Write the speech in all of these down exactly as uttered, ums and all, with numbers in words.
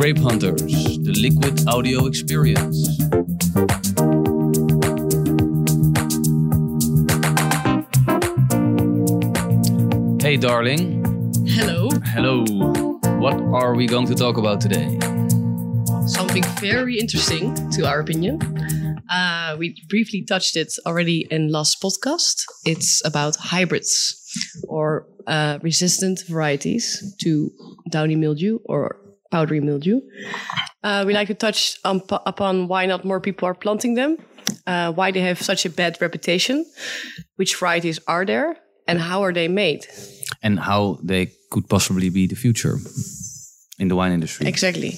Grape Hunters, the liquid audio experience. Hey darling. Hello. Hello. What are we going to talk about today? Something very interesting, to our opinion. Uh, we briefly touched it already in last podcast. It's about hybrids or uh, resistant varieties to downy mildew or powdery mildew. Uh, we like to touch on, upon why not more people are planting them, uh, why they have such a bad reputation, which varieties are there, and how are they made. And how they could possibly be the future in the wine industry. Exactly.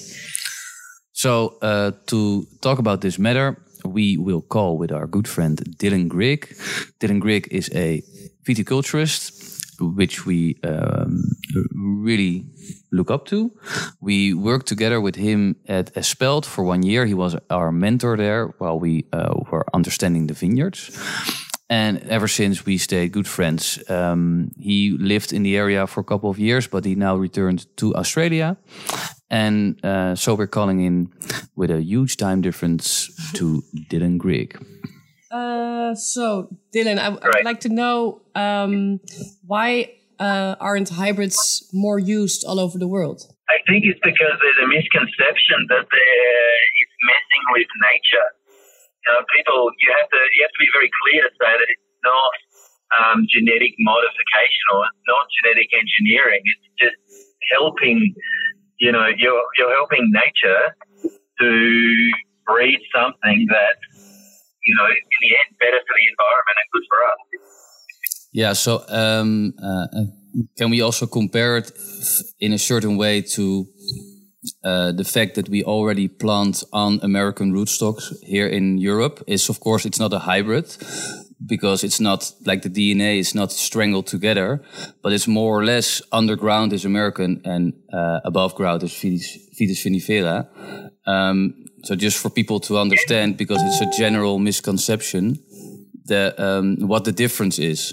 So uh, to talk about this matter, we will call with our good friend Dylan Grigg. Dylan Grigg is a viticulturist, which we um, really look up to. We worked together with him at Espelt for one year. He was our mentor there while we uh, were understanding the vineyards. And ever since, we stayed good friends. Um, he lived in the area for a couple of years, but he now returned to Australia. And uh, so we're calling in with a huge time difference to Dylan Grigg. Uh, so, Dylan, I, I would like to know um, why uh, aren't hybrids more used all over the world? I think it's because there's a misconception that it's messing with nature. You know, people, you have to you have to be very clear to say that it's not um, genetic modification or it's not genetic engineering. It's just helping. You know, you're you're helping nature to breed something that, you know, in the end, better for the environment and good for us. Yeah. So, um, uh, can we also compare it in a certain way to uh, the fact that we already plant on American rootstocks here in Europe? Is, of course, it's not a hybrid, because it's not like the D N A is not strangled together, but it's more or less underground is American and uh, above ground is Vitis, Vitis vinifera. Um, so just for people to understand, because it's a general misconception, the, um, what the difference is.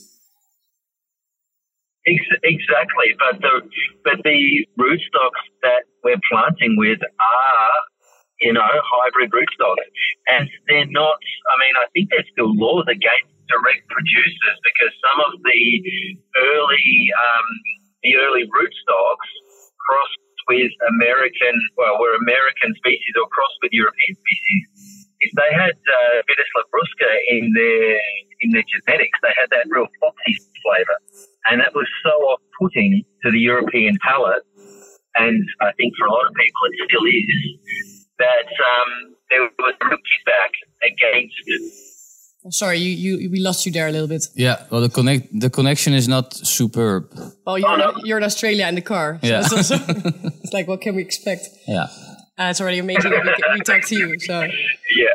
Exactly, but the but the rootstocks that we're planting with are, you know, hybrid rootstocks. And they're not, I mean, I think there's still laws against direct producers because some of the early um, the early rootstocks crossed with American, well, were American species or crossed with European species. If they had uh, Vitis labrusca in their, in their genetics, they had that real foxy flavour. And that was so off-putting to the European palate, and I think for a lot of people it still is, that um, there was a real kickback against it. Oh, sorry, you, you we lost you there a little bit. Yeah, well, the connect the connection is not superb. Oh, you're, oh, no. you're in Australia in the car. So yeah. it's, also, it's like, what can we expect? Yeah. Uh, it's already amazing that we, we talk to you. So. Yeah.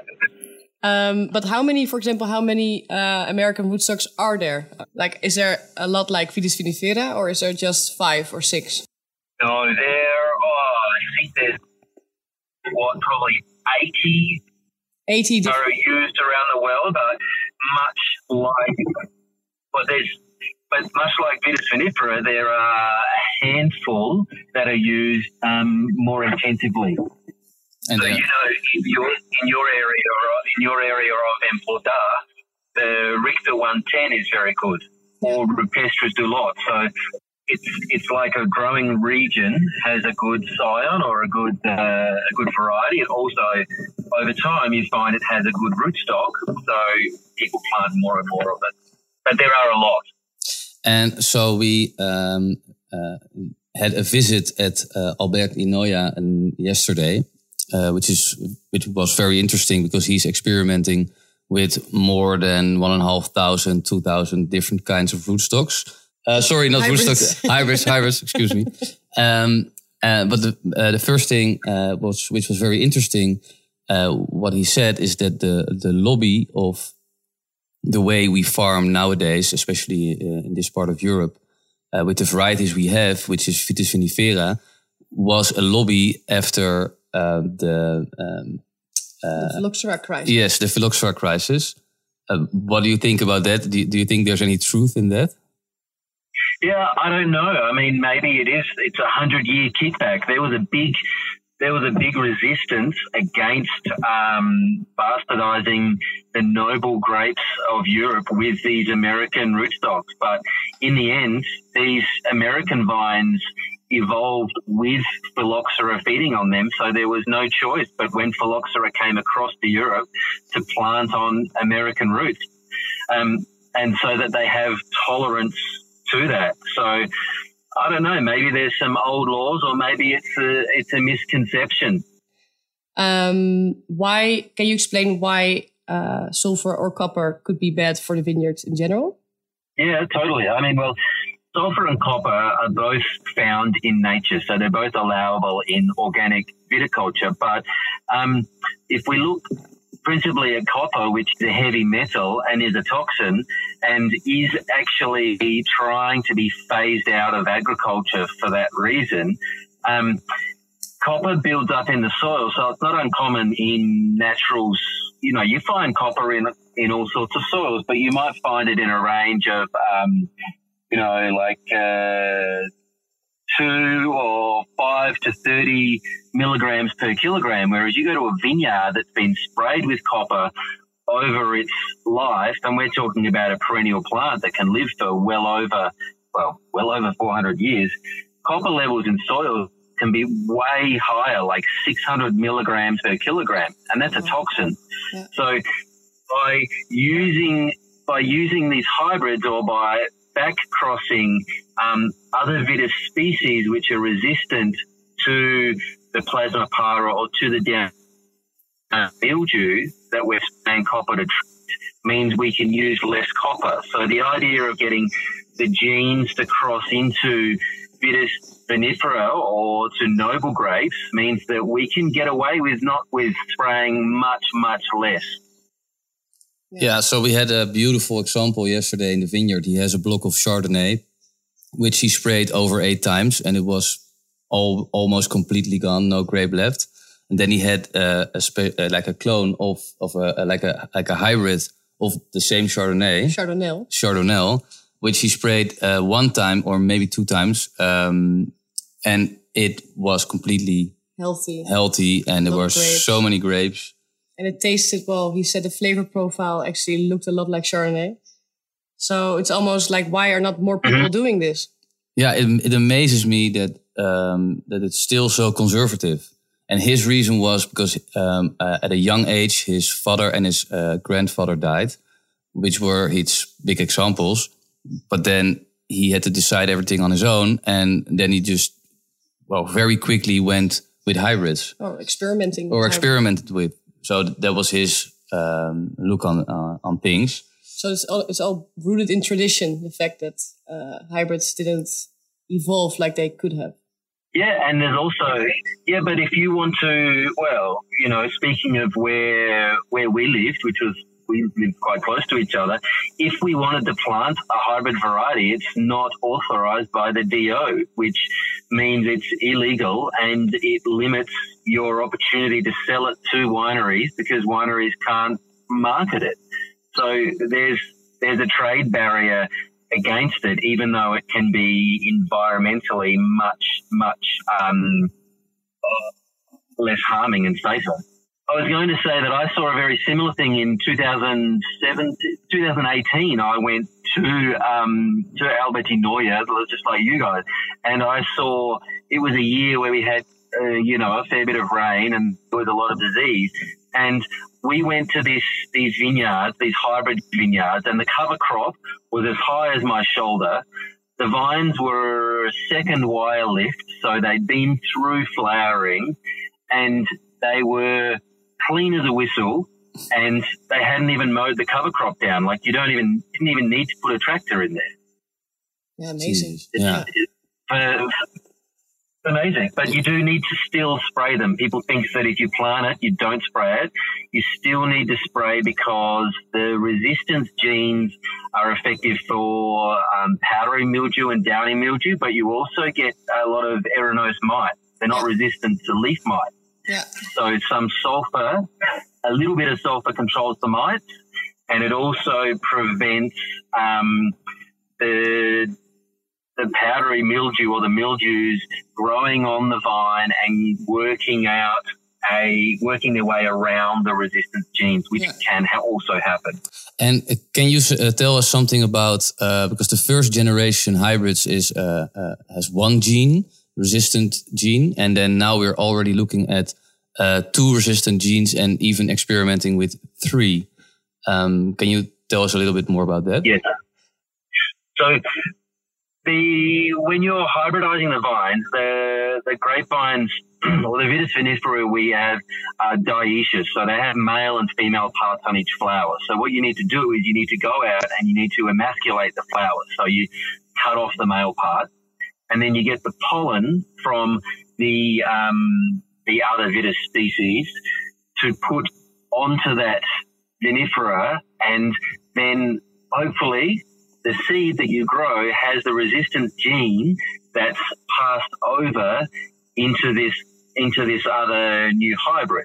Um, but how many, for example, how many uh, American rootstocks are there? Like, is there a lot like Vitis vinifera, or is there just five or six? No, there, oh, I think there's, what, probably eighty, eighty are used around the world, but much like, but there's, but much like Vitis vinifera, there are a handful that are used um, more intensively. And so, you know, in your in your area or in your area of Empordà, the Richter one ten is very good, or Rupestris du Lot. So it's it's like a growing region has a good scion or a good uh, a good variety, and also over time you find it has a good rootstock. So people plant more and more of it, but there are a lot. And so we um, uh, had a visit at uh, Albert Inoya um, yesterday. Uh, which is which was very interesting because he's experimenting with more than one and a half thousand, two thousand different kinds of rootstocks. Uh, sorry, not hybrids. rootstocks, hybrids, hybrids. Excuse me. Um, uh, but the uh, the first thing uh, was which was very interesting. Uh, what he said is that the the lobby of the way we farm nowadays, especially uh, in this part of Europe, uh, with the varieties we have, which is Vitis vinifera, was a lobby after. Uh, the um, uh, the phylloxera crisis. Yes, the phylloxera crisis. Uh, what do you think about that? Do you, do you think there's any truth in that? Yeah, I don't know. I mean, maybe it is. It's a hundred-year kickback. There was a big there was a big resistance against um, bastardizing the noble grapes of Europe with these American rootstocks. But in the end, these American vines evolved with phylloxera feeding on them, so there was no choice but when phylloxera came across to Europe to plant on American roots, um, and so that they have tolerance to that. So I don't know, maybe there's some old laws, or maybe it's a, it's a misconception. Um, why, can you explain why uh, sulfur or copper could be bad for the vineyards in general? Yeah, totally. I mean, well, sulfur and copper are both found in nature, so they're both allowable in organic viticulture. But um, if we look principally at copper, which is a heavy metal and is a toxin, and is actually trying to be phased out of agriculture for that reason, um, copper builds up in the soil. So it's not uncommon in naturals. You know, you find copper in in all sorts of soils, but you might find it in a range of um, you know, like uh, two or five to thirty milligrams per kilogram, whereas you go to a vineyard that's been sprayed with copper over its life, and we're talking about a perennial plant that can live for well over, well, well over four hundred years. Copper levels in soil can be way higher, like six hundred milligrams per kilogram, and that's a toxin. Yeah. So by using by using these hybrids, or by back crossing um, other Vitis species which are resistant to the Plasmopara or to the down uh, mildew that we're spraying copper to treat, means we can use less copper. So the idea of getting the genes to cross into Vitis vinifera or to noble grapes means that we can get away with not with spraying much, much less. Yeah. yeah, so we had a beautiful example yesterday in the vineyard. He has a block of Chardonnay, which he sprayed over eight times, and it was all almost completely gone, no grape left. And then he had uh, a spe- uh, like a clone of of a, uh, like a like a hybrid of the same Chardonnay, Chardonnay, Chardonnay, which he sprayed uh, one time or maybe two times, um, and it was completely healthy, healthy, and there were grapes. so many grapes. And it tasted well. He said the flavor profile actually looked a lot like Chardonnay. So it's almost like, why are not more people doing this? Yeah, it, it amazes me that um, that it's still so conservative. And his reason was because um, uh, at a young age, his father and his uh, grandfather died, which were his big examples. But then he had to decide everything on his own. And then he just, well, very quickly went with hybrids. Or experimenting. Or experimented with. So that was his um, look on uh, on things. So it's all, it's all rooted in tradition, the fact that uh, hybrids didn't evolve like they could have. Yeah, and there's also, yeah, but if you want to, well, you know, speaking of where where we lived, which was, we lived quite close to each other, if we wanted to plant a hybrid variety, it's not authorized by the D O, which means it's illegal, and it limits your opportunity to sell it to wineries because wineries can't market it. So there's there's a trade barrier against it, even though it can be environmentally much, much um, less harming and safer. I was going to say that I saw a very similar thing in two thousand seven, two thousand eighteen. I went to um, to Albertinoia, just like you guys, and I saw it was a year where we had, uh, you know, a fair bit of rain and there was a lot of disease. And we went to this these vineyards, these hybrid vineyards, and the cover crop was as high as my shoulder. The vines were second wire lift, so they'd been through flowering, and they were clean as a whistle, and they hadn't even mowed the cover crop down. Like, you don't even didn't even need to put a tractor in there. Yeah, amazing. It's, yeah. It's, uh, amazing, but you do need to still spray them. People think that if you plant it, you don't spray it. You still need to spray because the resistance genes are effective for um, powdery mildew and downy mildew, but you also get a lot of Erinose mite. They're not resistant to leaf mite. Yeah. So some sulfur, a little bit of sulfur controls the mites, and it also prevents um, the the powdery mildew or the mildews growing on the vine and working out a working their way around the resistance genes, which yeah. can ha- also happen. And uh, can you uh, tell us something about uh, because the first generation hybrids is uh, uh, has one gene, resistant gene, and then now we're already looking at uh, two resistant genes and even experimenting with three. Um, can you tell us a little bit more about that? Yes. So the when you're hybridizing the vines, the the grapevines or the Vitis vinifera we have are dioecious, so they have male and female parts on each flower. So what you need to do is you need to go out and you need to emasculate the flowers. So you cut off the male part, and then you get the pollen from the um, the other Vitis species to put onto that vinifera, and then hopefully the seed that you grow has the resistant gene that's passed over into this into this other new hybrid.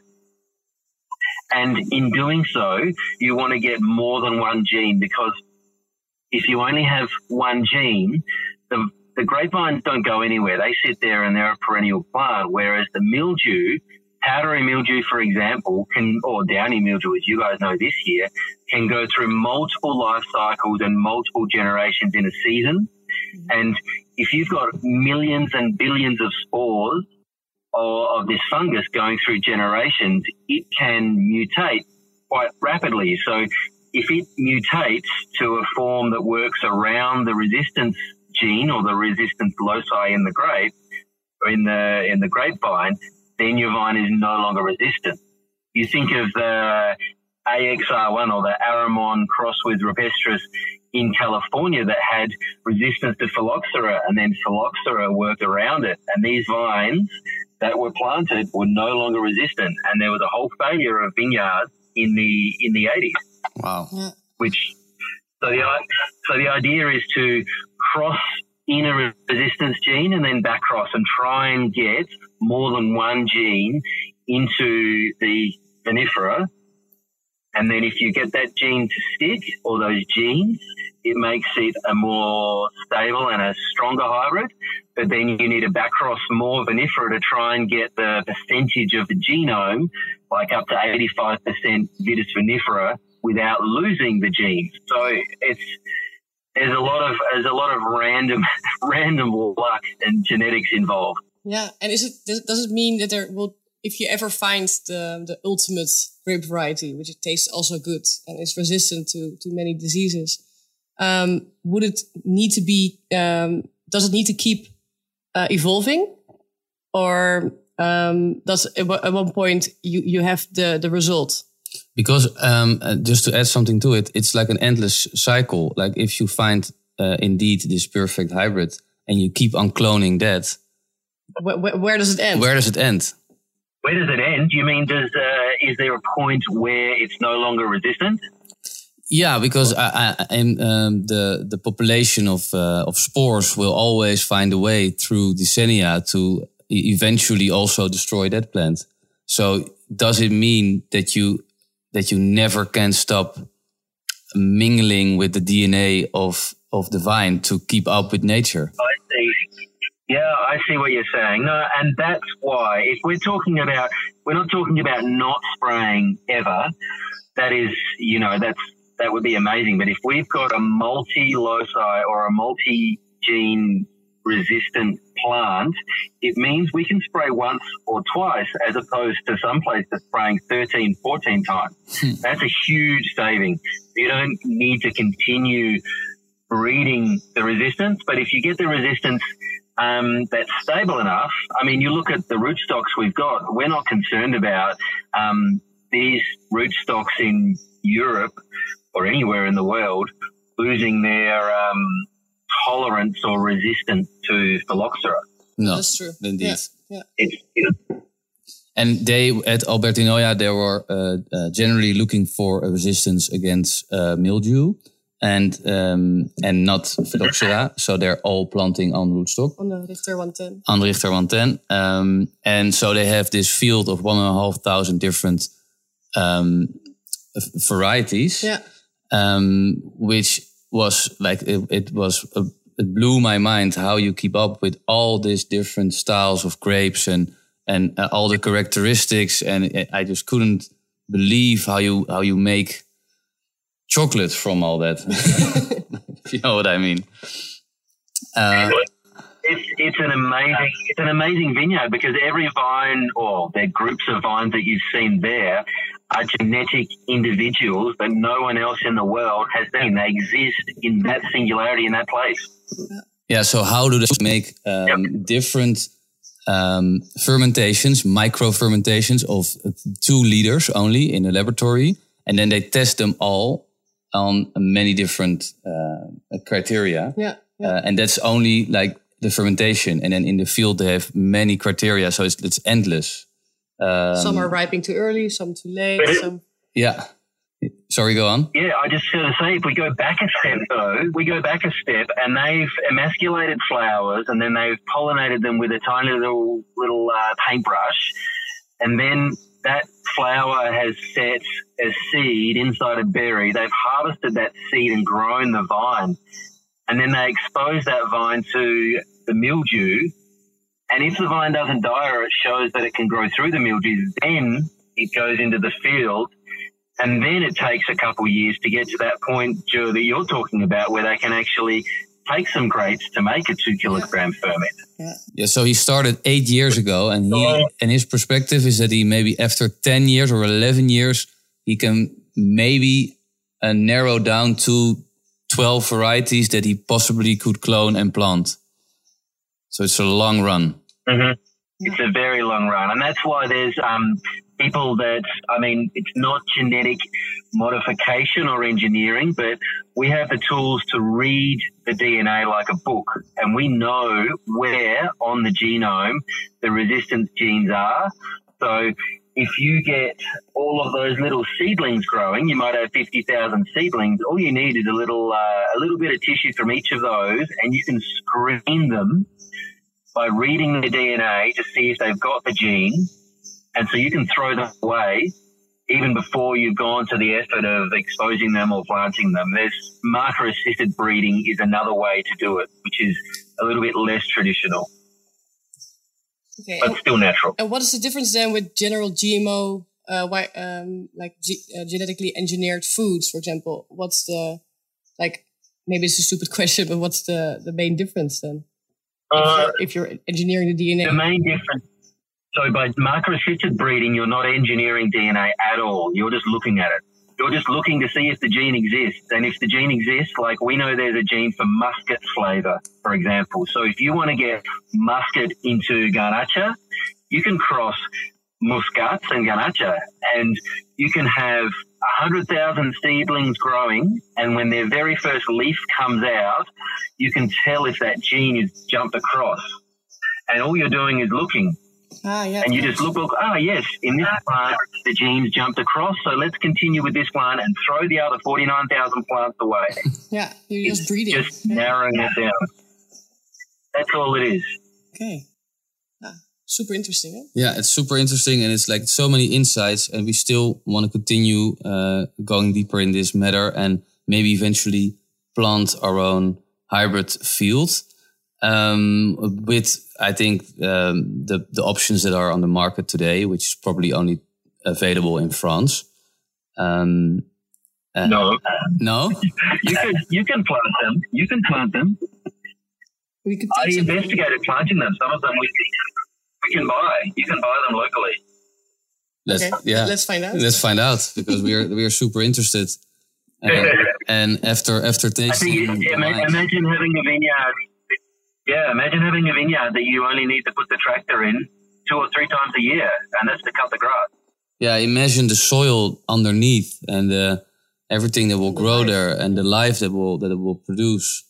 And in doing so, you want to get more than one gene, because if you only have one gene, the the grapevines don't go anywhere. They sit there and they're a perennial plant, whereas the mildew, powdery mildew, for example, can, or downy mildew, as you guys know this year, can go through multiple life cycles and multiple generations in a season. Mm-hmm. And if you've got millions and billions of spores or of this fungus going through generations, it can mutate quite rapidly. So if it mutates to a form that works around the resistance gene or the resistance loci in the grape or in the in the grapevine, then your vine is no longer resistant. You think of the A X R one or the Aramon cross with Rupestris in California that had resistance to phylloxera, and then phylloxera worked around it, and these vines that were planted were no longer resistant, and there was a whole failure of vineyards in the in the eighties. Wow. Yeah. Which so the so the idea is to cross in a resistance gene and then back cross and try and get more than one gene into the vinifera. And then if you get that gene to stick, or those genes, it makes it a more stable and a stronger hybrid. But then you need to back cross more vinifera to try and get the percentage of the genome, like up to eighty-five percent Vitis vinifera, without losing the genes. So it's there's a lot of there's a lot of random random luck and genetics involved. Yeah, and is it does, does it mean that there will, if you ever find the the ultimate grape variety, which it tastes also good and is resistant to to many diseases, um, would it need to be? Um, does it need to keep uh, evolving, or um, does at one point you you have the the result? Because um, uh, just to add something to it, it's like an endless cycle. Like if you find uh, indeed this perfect hybrid and you keep on cloning that, where, where, where does it end? Where does it end? Where does it end? You mean does uh, is there a point where it's no longer resistant? Yeah, because I, I, and, um, the the population of uh, of spores will always find a way through decennia to eventually also destroy that plant. So does it mean that you that you never can stop mingling with the D N A of, of the vine to keep up with nature? I see. Yeah, I see what you're saying. No, and that's why if we're talking about, we're not talking about not spraying ever. That is, you know, that's, that would be amazing. But if we've got a multi-loci or a multi-gene resistant plant, it means we can spray once or twice as opposed to some places spraying thirteen, fourteen times. Hmm. That's a huge saving. You don't need to continue breeding the resistance, but if you get the resistance um, that's stable enough, I mean, you look at the rootstocks we've got, we're not concerned about um, these rootstocks in Europe or anywhere in the world losing their um, tolerance or resistance to phylloxera. No, that's true. Indeed. Yeah. Yeah. It's, it's, and they at Albertinoia they were uh, uh, generally looking for a resistance against uh, mildew and um, and not phylloxera. So they're all planting on rootstock. On the Richter one ten. On the Richter one ten. Um, and so they have this field of one and a half thousand different um, varieties. Yeah. Um, which was like it, it was a it blew my mind how you keep up with all these different styles of grapes and and uh, all the characteristics, and I just couldn't believe how you how you make chocolate from all that. If you know what I mean. Uh, It's it's an amazing it's an amazing vineyard because every vine, or the groups of vines that you've seen there, are genetic individuals that no one else in the world has seen. They exist in that singularity in that place. Yeah. So how do they make um, yep. different um, fermentations, micro fermentations of two liters only in a laboratory, and then they test them all on many different uh, criteria. Yeah. yeah. Uh, and that's only like the fermentation, and then in the field they have many criteria, so it's it's endless. Um, some are ripening too early, some too late. Some yeah. Sorry, go on. Yeah, I just going to say, if we go back a step though, we go back a step, and they've emasculated flowers, and then they've pollinated them with a tiny little little uh, paintbrush, and then that flower has set a seed inside a berry. They've harvested that seed and grown the vine. And then they expose that vine to the mildew. And if the vine doesn't die or it shows that it can grow through the mildew, then it goes into the field. And then it takes a couple of years to get to that point, Joe, that you're talking about, where they can actually take some grapes to make a two kilogram ferment. Yeah. yeah, so he started eight years ago, and he so, and his perspective is that he maybe after ten years or eleven years, he can maybe uh, narrow down to twelve varieties that he possibly could clone and plant. So it's a long run. Mm-hmm. It's a very long run. And that's why there's um, people that, I mean, it's not genetic modification or engineering, but we have the tools to read the D N A like a book. And we know where on the genome the resistance genes are. So if you get all of those little seedlings growing, you might have fifty thousand seedlings. All you need is a little uh, a little bit of tissue from each of those, and you can screen them by reading the D N A to see if they've got the gene. And so you can throw them away even before you've gone to the effort of exposing them or planting them. There's marker-assisted breeding is another way to do it, which is a little bit less traditional. Okay, but and, still natural. And what is the difference then with general G M O, uh, why, um, like G- uh, genetically engineered foods, for example? What's the, like, maybe it's a stupid question, but what's the, the main difference then? Uh, if, you're, if you're engineering the D N A? The main difference, so by marker-assisted breeding, you're not engineering D N A at all. You're just looking at it. You're just looking to see if the gene exists. And if the gene exists, like we know there's a gene for muscat flavor, for example. So if you want to get muscat into Garnacha, you can cross muscats and Garnacha, and you can have one hundred thousand seedlings growing, and when their very first leaf comes out, you can tell if that gene is jumped across. And all you're doing is looking. Ah, yeah, and you just look, look, ah, yes, in this plant, the genes jumped across, so let's continue with this plant and throw the other forty-nine thousand plants away. Yeah, you're it's just breeding. Just narrowing it down. That's all it is. Okay. Ah, super interesting, eh? Yeah, it's super interesting, and it's like so many insights, and we still want to continue uh, going deeper in this matter and maybe eventually plant our own hybrid field. Um, with, I think, um, the, the options that are on the market today, which is probably only available in France. Um, uh, no. No? you can, you can plant them. You can plant them. We could I investigated planting them. Some of them we, we can buy. You can buy them locally. Let's, okay. yeah. Let's find out. Let's find out, because we are, we are super interested. Uh, and after, after tasting... I think, yeah, imagine having a vineyard... Yeah, imagine having a vineyard that you only need to put the tractor in two or three times a year, and that's to cut the grass. Yeah, imagine the soil underneath and uh, everything that will the grow life. there, and the life that will that it will produce.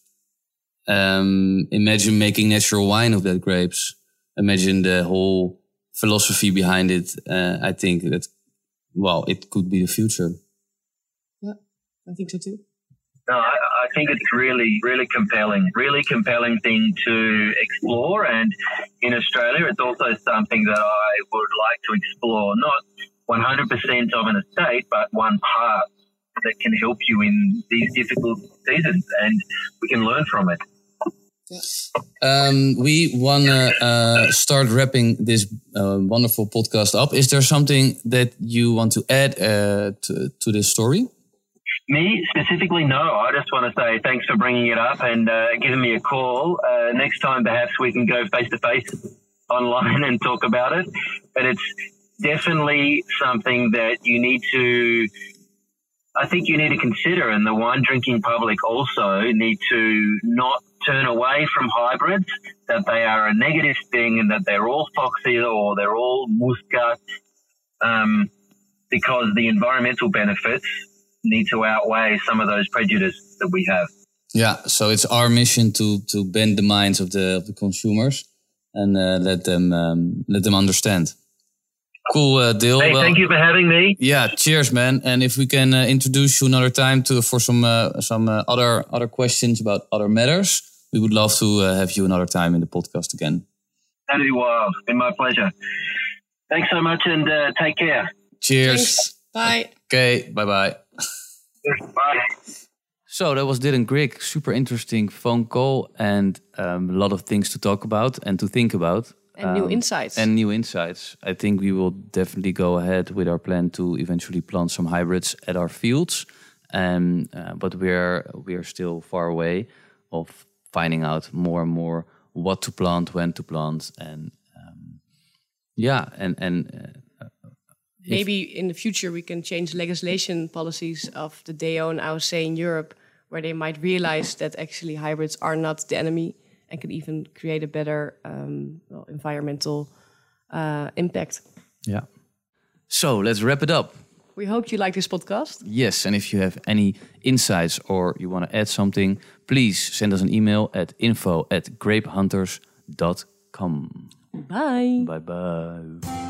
Um, imagine making natural wine of that grapes. Imagine the whole philosophy behind it. Uh, I think that, well, it could be the future. Yeah, I think so too. No, I, I think it's really, really compelling, really compelling thing to explore. And in Australia, it's also something that I would like to explore, not one hundred percent of an estate, but one part that can help you in these difficult seasons, and we can learn from it. Um, we want to uh, start wrapping this uh, wonderful podcast up. Is there something that you want to add uh, to, to this story? Me specifically, no. I just want to say thanks for bringing it up and uh, giving me a call. Uh, next time, perhaps we can go face to face online and talk about it. But it's definitely something that you need to, I think you need to consider, and the wine drinking public also need to not turn away from hybrids, that they are a negative thing and that they're all foxy or they're all muscat, um, because the environmental benefits need to outweigh some of those prejudices that we have. Yeah, so it's our mission to to bend the minds of the of the consumers and uh, let them um, let them understand. Cool, uh, Dil. Hey, well, thank you for having me. Yeah, cheers, man. And if we can uh, introduce you another time to for some uh, some uh, other other questions about other matters, we would love to uh, have you another time in the podcast again. That'd be wild. Been my pleasure. Thanks so much, and uh, take care. Cheers. Thanks. Bye. Okay, bye bye. Bye. So that was Dylan Grigg. Super interesting phone call and um, a lot of things to talk about and to think about. And um, new insights. And new insights. I think we will definitely go ahead with our plan to eventually plant some hybrids at our fields. Um, uh, but we're we're still far away of finding out more and more what to plant, when to plant, and um, yeah, and and uh, maybe in the future we can change legislation policies of the D O N A O C in Europe, where they might realize that actually hybrids are not the enemy and can even create a better um, well, environmental uh, impact. Yeah. So let's wrap it up. We hope you like this podcast. Yes, and if you have any insights or you want to add something, please send us an email at info at grapehunters dot com. Bye. Bye bye.